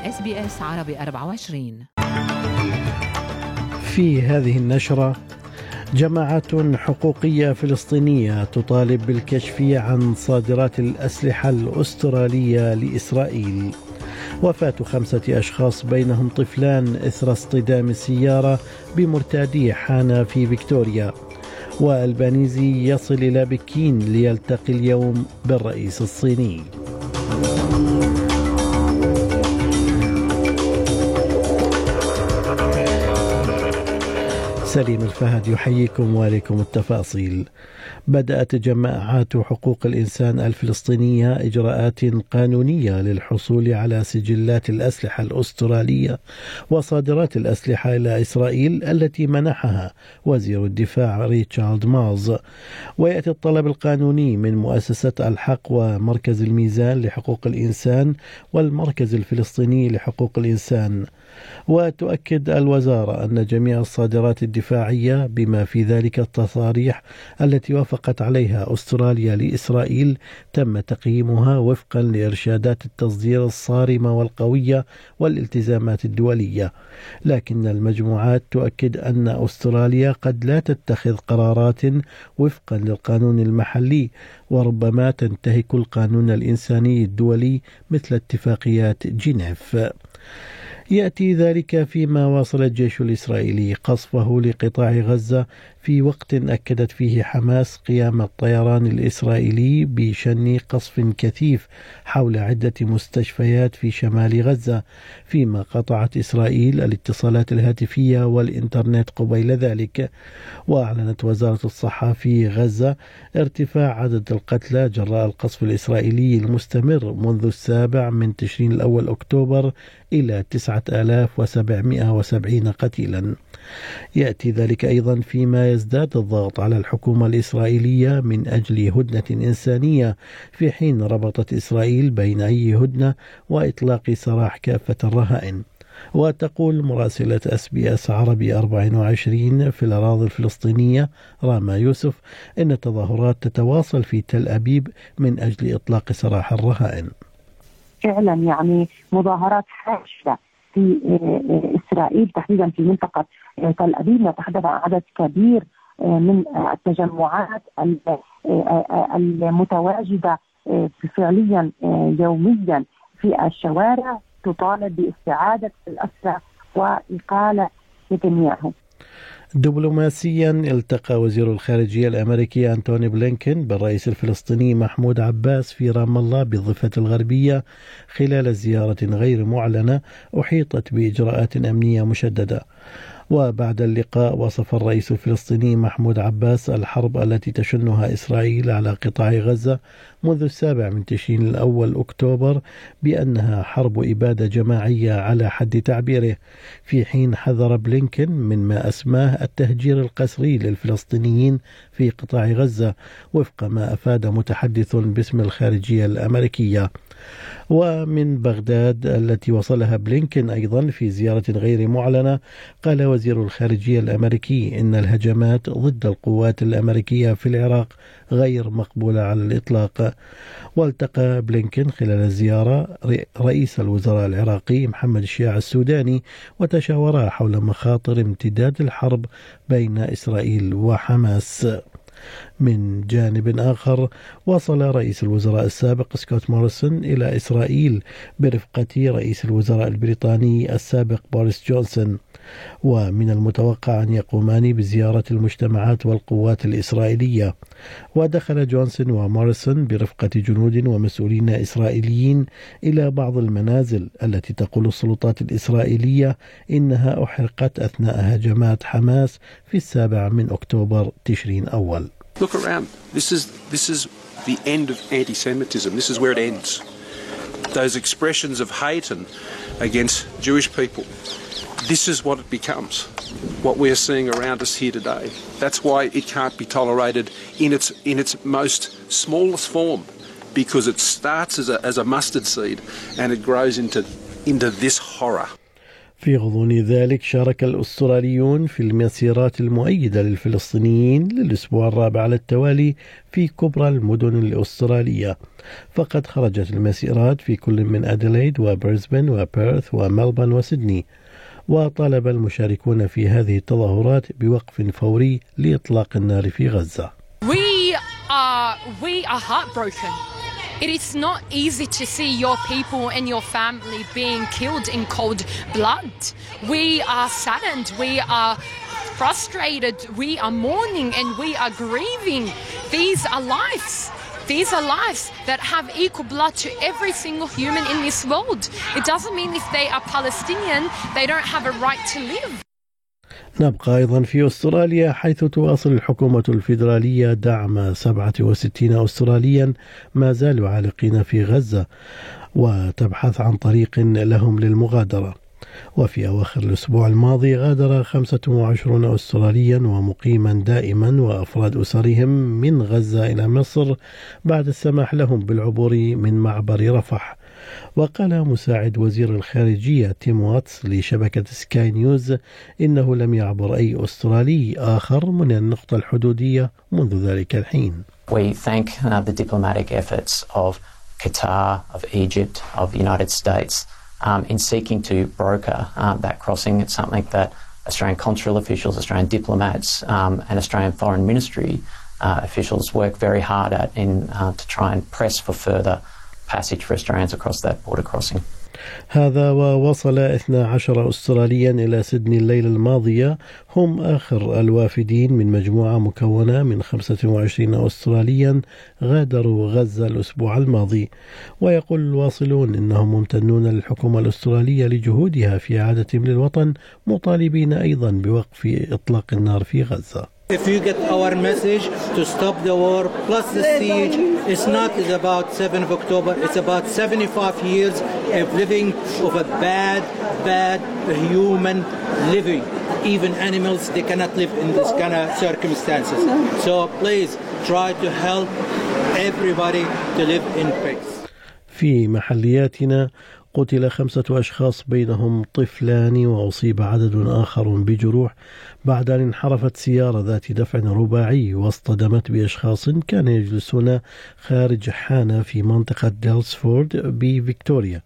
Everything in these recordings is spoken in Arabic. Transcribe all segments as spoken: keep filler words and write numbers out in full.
إس بي إس عربي أربعة وعشرين. في هذه النشرة، جماعات حقوقية فلسطينية تطالب بالكشف عن صادرات الأسلحة الأسترالية لإسرائيل. وفاة خمسة أشخاص بينهم طفلان إثر اصطدام السيارة بمرتادي حانة في فيكتوريا. والبانيزي يصل إلى بكين ليلتقي اليوم بالرئيس الصيني. سليم الفهد يحييكم وعليكم التفاصيل. بدأت جماعات حقوق الإنسان الفلسطينية إجراءات قانونية للحصول على سجلات الأسلحة الأسترالية وصادرات الأسلحة إلى إسرائيل التي منحها وزير الدفاع ريتشارد مالز. ويأتي الطلب القانوني من مؤسسة الحق ومركز الميزان لحقوق الإنسان والمركز الفلسطيني لحقوق الإنسان. وتؤكد الوزارة أن جميع الصادرات الدفاعية بما في ذلك التصاريح التي وافقت عليها أستراليا لإسرائيل تم تقييمها وفقا لإرشادات التصدير الصارمة والقوية والالتزامات الدولية. لكن المجموعات تؤكد أن أستراليا قد لا تتخذ قرارات وفقا للقانون المحلي، وربما تنتهك القانون الإنساني الدولي مثل اتفاقيات جنيف. يأتي ذلك فيما واصل الجيش الإسرائيلي قصفه لقطاع غزة في وقت أكدت فيه حماس قيام الطيران الإسرائيلي بشن قصف كثيف حول عدة مستشفيات في شمال غزة، فيما قطعت إسرائيل الاتصالات الهاتفية والإنترنت قبيل ذلك. وأعلنت وزارة الصحة في غزة ارتفاع عدد القتلى جراء القصف الإسرائيلي المستمر منذ السابع من تشرين الأول أكتوبر إلى تسعة آلاف وسبعمائة وسبعين قتيلا. يأتي ذلك أيضا فيما يزداد الضغط على الحكومة الإسرائيلية من أجل هدنة إنسانية، في حين ربطت إسرائيل بين أي هدنة وإطلاق سراح كافة الرهائن. وتقول مراسلة إس بي إس عربي أربعة وعشرين في الأراضي الفلسطينية راما يوسف إن التظاهرات تتواصل في تل أبيب من أجل إطلاق سراح الرهائن. فعلا يعني مظاهرات حاشدة في إسرائيل تحديدا في منطقة تل أبيب، يتحدث عن عدد كبير من التجمعات المتواجدة فعليا يوميا في الشوارع تطالب باستعادة الأسرى وإقالة نتنياهو. دبلوماسيا، التقى وزير الخارجية الأمريكي أنتوني بلينكن بالرئيس الفلسطيني محمود عباس في رام الله بالضفة الغربية خلال زيارة غير معلنة أحيطت بإجراءات أمنية مشددة. وبعد اللقاء وصف الرئيس الفلسطيني محمود عباس الحرب التي تشنها إسرائيل على قطاع غزة منذ السابع من تشرين الأول أكتوبر بأنها حرب إبادة جماعية على حد تعبيره، في حين حذر بلينكن من ما أسماه التهجير القسري للفلسطينيين في قطاع غزة وفق ما أفاد متحدث باسم الخارجية الأمريكية. ومن بغداد التي وصلها بلينكن أيضا في زيارة غير معلنة، قال وزير الخارجية الأمريكي إن الهجمات ضد القوات الأمريكية في العراق غير مقبولة على الإطلاق. والتقى بلينكن خلال الزيارة رئيس الوزراء العراقي محمد الشياع السوداني وتشاورا حول مخاطر امتداد الحرب بين إسرائيل وحماس. من جانب آخر، وصل رئيس الوزراء السابق سكوت موريسون إلى إسرائيل برفقة رئيس الوزراء البريطاني السابق بوريس جونسون، ومن المتوقع أن يقومان بزيارة المجتمعات والقوات الإسرائيلية. ودخل جونسون وموريسون برفقة جنود ومسؤولين إسرائيليين إلى بعض المنازل التي تقول السلطات الإسرائيلية إنها أحرقت أثناء هجمات حماس في السابع من أكتوبر تشرين أول. Look around. This is this is the end of anti-Semitism. This is where it ends. Those expressions of hate and against Jewish people. This is what it becomes. What we're seeing around us here today. That's why it can't be tolerated in its in its most smallest form, because it starts as a as a mustard seed and it grows into into this horror. في غضون ذلك شارك الأستراليون في المسيرات المؤيدة للفلسطينيين للأسبوع الرابع على التوالي في كبرى المدن الأسترالية، فقد خرجت المسيرات في كل من أديلايد وبريسبن وبيرث وملبورن وسيدني، وطالب المشاركون في هذه التظاهرات بوقف فوري لإطلاق النار في غزة. We are, we are heartbroken. It is not easy to see your people and your family being killed in cold blood. We are saddened, we are frustrated, we are mourning and we are grieving. These are lives. These are lives that have equal blood to every single human in this world. It doesn't mean if they are Palestinian, they don't have a right to live. نبقى أيضا في أستراليا، حيث تواصل الحكومة الفيدرالية دعم سبعة وستين أستراليا ما زالوا عالقين في غزة، وتبحث عن طريق لهم للمغادرة. وفي أواخر الأسبوع الماضي غادر خمسة وعشرين أستراليا ومقيما دائما وأفراد أسرهم من غزة إلى مصر بعد السماح لهم بالعبور من معبر رفح. وقال مساعد وزير الخارجية تيم واتس لشبكة سكاي نيوز إنه لم يعبر أي أسترالي آخر من النقطة الحدودية منذ ذلك الحين. We thank uh, the diplomatic efforts of Qatar, of Egypt, of the United States um, in seeking to broker uh, that crossing. It's something that Australian consular officials, Australian diplomats um, and Australian Foreign Ministry uh, officials work very hard at in uh, to try and press for further passage for Australians across that border crossing. هذا ووصل اثنا عشر أستراليا إلى سيدني الليلة الماضية، هم آخر الوافدين من مجموعة مكونة من خمسة وعشرين أستراليا غادروا غزة الأسبوع الماضي. ويقول الواصلون إنهم ممتنون للحكومة الأسترالية لجهودها في إعادتهم للوطن، مطالبين أيضا بوقف إطلاق النار في غزة. If you get our message to stop the war plus the siege, it's not about seventh of October, it's about seventy-five years of living of a bad, bad human living. Even animals, they cannot live in this kind of circumstances. So please try to help everybody to live in peace. في محلياتنا قتل خمسة أشخاص بينهم طفلان، وأصيب عدد آخر بجروح بعد أن انحرفت سيارة ذات دفع رباعي واصطدمت بأشخاص كانوا يجلسون خارج حانة في منطقة ديلسفورد بفيكتوريا.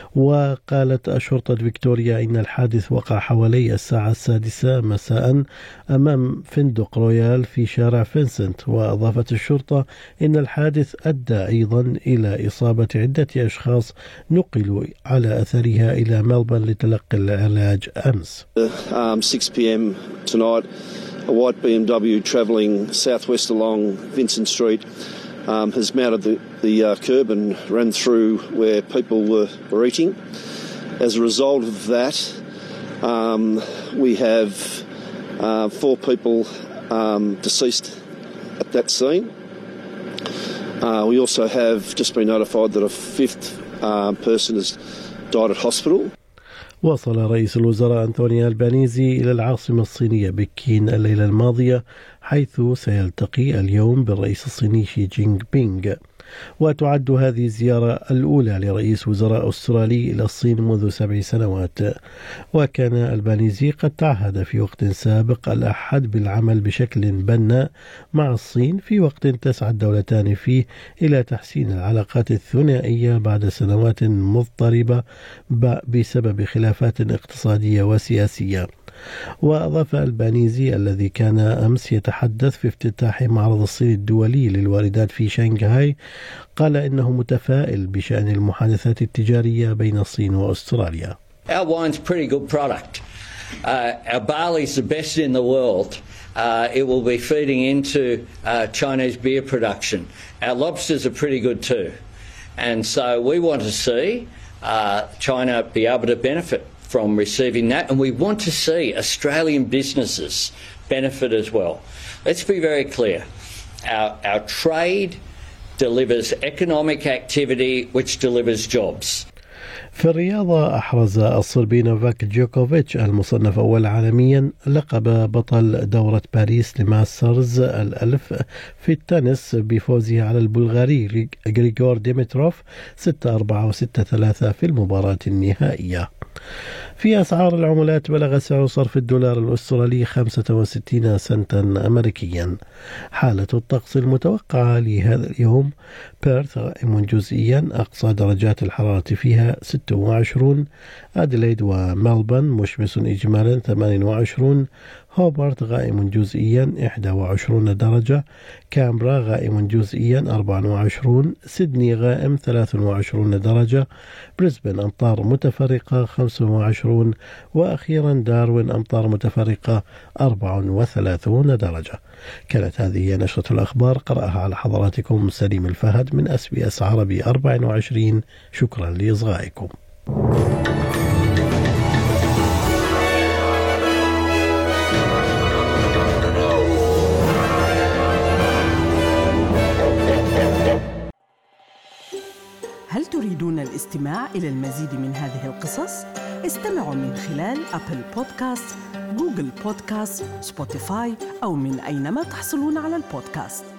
وقالت شرطة فيكتوريا إن الحادث وقع حوالي الساعة السادسة مساء أمام فندق رويال في شارع فينسنت. وأضافت الشرطة إن الحادث أدى أيضا إلى إصابة عدة أشخاص نقلوا على أثرها إلى ملبورن لتلقي العلاج أمس. um, six p m tonight, a white B M W travelling southwest along Vincent Street um, has mounted the, the uh, curb and ran through where people were, were eating. As a result of that, um, we have uh, four people um, deceased at that scene. Uh, we also have just been notified that a fifth uh, person has died at hospital. وصل رئيس الوزراء أنتوني ألبانيزي إلى العاصمة الصينية بكين الليلة الماضية، حيث سيلتقي اليوم بالرئيس الصيني شي جينغ بينغ. وتعد هذه الزيارة الأولى لرئيس وزراء أسترالي إلى الصين منذ سبع سنوات. وكان ألبانيزي قد تعهد في وقت سابق الأحد بالعمل بشكل بناء مع الصين، في وقت تسعى الدولتان فيه إلى تحسين العلاقات الثنائية بعد سنوات مضطربة بسبب خلافات اقتصادية وسياسية. وأضاف ألبانيزي الذي كان أمس يتحدث في افتتاح معرض الصين الدولي للواردات في شنغهاي، قال إنه متفائل بشأن المحادثات التجارية بين الصين وأستراليا. Our wine's pretty good product. Uh, our barley's the best in the world. Uh, it will be feeding into uh, Chinese beer production. Our lobsters are pretty good too. And so we want to see uh, China be able to benefit from receiving that, and we want to see Australian businesses benefit as well. Let's be very clear. Our, our trade delivers economic activity which delivers jobs. في الرياضة أحرز الصربي نوفاك جوكوفيتش المصنف أول عالميا لقب بطل دورة باريس لماسترز الألف في التنس بفوزه على البلغاري غريغور ديمتروف ستة أربعة وستة ثلاثة في المباراة النهائية. في أسعار العملات بلغ سعر صرف الدولار الأسترالي خمسة وستين سنتا أمريكيا. حالة الطقس المتوقعة لهذا اليوم: بيرث غائم جزئيا، أقصى درجات الحرارة فيها ستة وعشرين. أديلايد وملبون مشمس إجمالا ثمانية وعشرين. هوبارت غائم جزئيا إحدى وعشرين درجة. كامبرا غائم جزئيا أربعة وعشرين. سيدني غائم ثلاثة وعشرين درجة. بريسبن أمطار متفرقة خمسة وعشرين. وأخيرا داروين أمطار متفرقة أربعة وثلاثين درجة. كانت هذه نشرة الأخبار، قرأها على حضراتكم سليم الفهد من أس بي أس عربي أربعة وعشرين. شكرا لإصغائكم. هل تريدون الاستماع إلى المزيد من هذه القصص؟ استمعوا من خلال أبل بودكاست، جوجل بودكاست، سبوتيفاي أو من أينما تحصلون على البودكاست.